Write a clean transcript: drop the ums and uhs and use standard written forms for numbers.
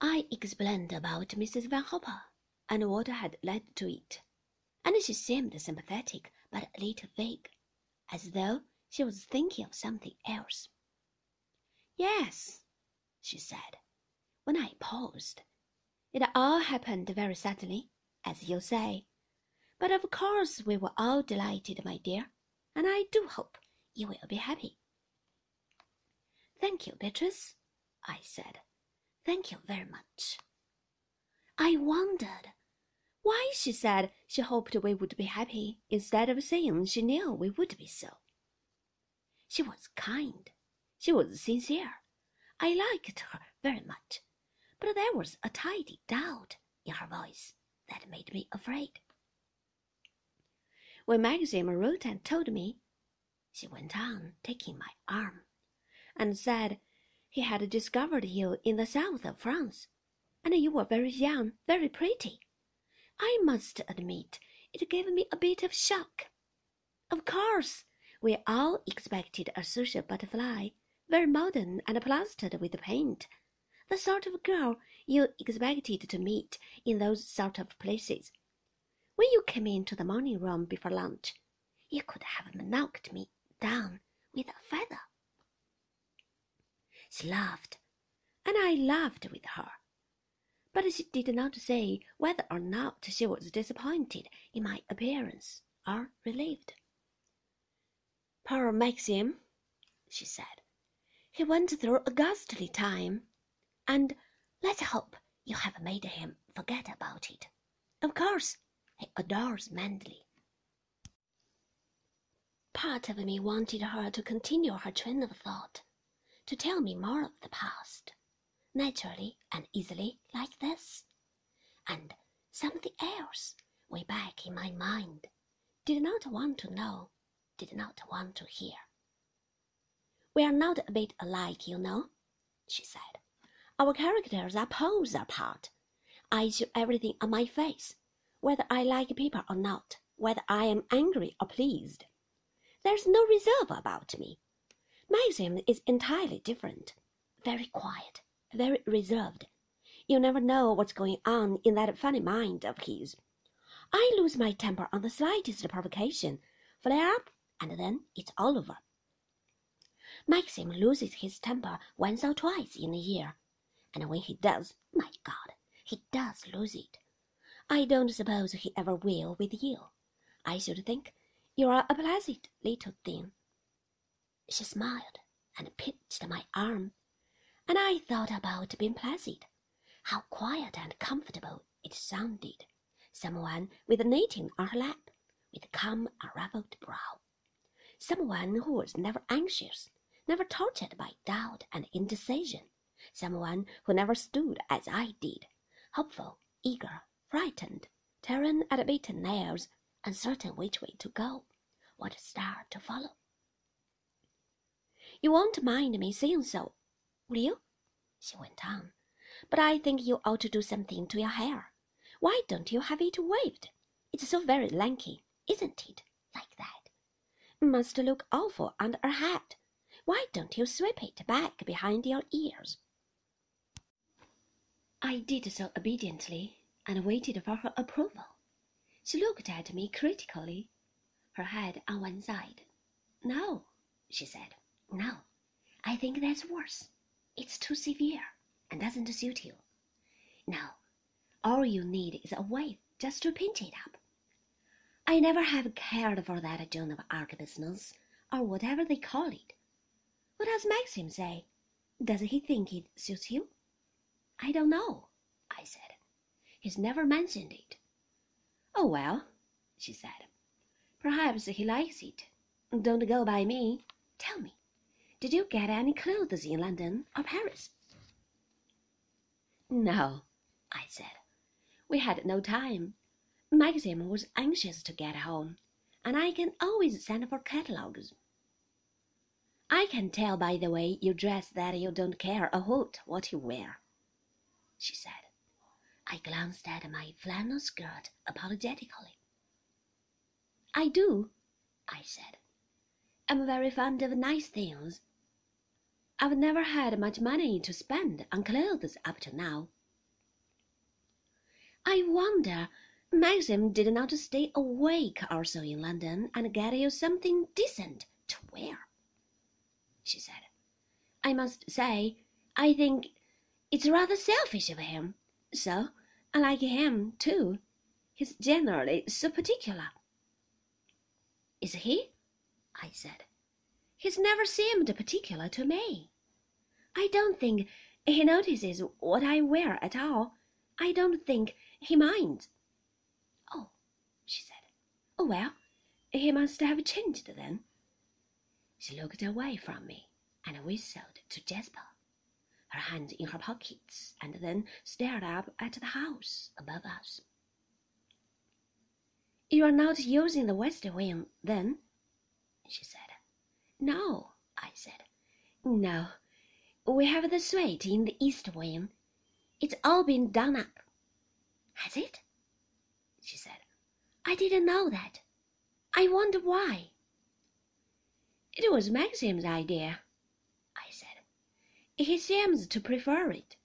I explained about Mrs. Van Hopper and what had led to it, and she seemed sympathetic but a little vague, as though she was thinking of something else. Yes, she said, when I paused. It all happened very suddenly, as you say. But of course we were all delighted, my dear, and I do hope you will be happy. Thank you, Beatrice, I said. Thank you very much. I wondered why she said she hoped we would be happy instead of saying she knew we would be so. She was kind. She was sincere. I liked her very much, but there was a tidy doubt in her voice that made me afraid. When Maxim wrote and told me, she went on, taking my arm, and said he had discovered you in the south of France, and you were very young, very pretty. I must admit it gave me a bit of shock. Of course, we all expected a social butterfly, very modern and plastered with paint, the sort of girl you expected to meet in those sort of places. When you came into the morning room before lunch, you could have knocked me down with a feather. She laughed, and I laughed with her, but she did not say whether or not she was disappointed in my appearance or relieved. Poor Maxim, she said. He went through a ghastly time, and let's hope you have made him forget about it. Of course, he adores Manderley. Part of me wanted her to continue her train of thought, to tell me more of the past, naturally and easily like this, and something else way back in my mind did not want to know, did not want to hear. We are not a bit alike, you know, she said. Our characters are poles apart. I show everything on my face, whether I like people or not, whether I am angry or pleased. There's no reserve about me. Maxim is entirely different, very quiet, very reserved. You never know what's going on in that funny mind of his. I lose my temper on the slightest provocation, flare up, and then it's all over. Maxim loses his temper once or twice in a year, and when he does, my God, he does lose it. I don't suppose he ever will with you. I should think you are a placid little thing. She smiled and pinched my arm, and I thought about being placid. How quiet and comfortable it sounded. Someone with knitting on her lap, with calm, unruffled brow. Someone who was never anxious, never tortured by doubt and indecision. Someone who never stood as I did, hopeful, eager, frightened, tearing at beaten nails, uncertain which way to go, what star to follow. You won't mind me saying so, will you? She went on. But I think you ought to do something to your hair. Why don't you have it waved? It's so very lanky, isn't it, like that? Must look awful under a hat. Why don't you sweep it back behind your ears? I did so obediently, and waited for her approval. She looked at me critically, her head on one side. No, she said, no, I think that's worse. It's too severe, and doesn't suit you. No, all you need is a wave just to pinch it up. I never have cared for that Joan of Arc business, or whatever they call it. What does Maxim say? Does he think it suits you? I don't know, I said. He's never mentioned it. Oh, well, she said. Perhaps he likes it. Don't go by me. Tell me, did you get any clothes in London or Paris? No, I said. We had no time. Maxim was anxious to get home, and I can always send for catalogues. I can tell by the way you dress that you don't care a hoot what you wear, she said. I glanced at my flannel skirt apologetically. I do, I said. I'm very fond of nice things. I've never had much money to spend on clothes up to now. I wonder Maxim did not stay a week or so in London and get you something decent to wear, she said. I must say, I think it's rather selfish of him. So, I like him, too. He's generally so particular. Is he? I said. He's never seemed particular to me. I don't think he notices what I wear at all. I don't think he minds. Oh, she said. Oh, well, he must have changed then. She looked away from me and whistled to Jasper, her hands in her pockets, and then stared up at the house above us. You are not using the west wing, then? She said. No, I said. No, we have the suite in the east wing. It's all been done up. Has it? She said. I didn't know that. I wonder why. It was Maxim's idea, I said. He seems to prefer it.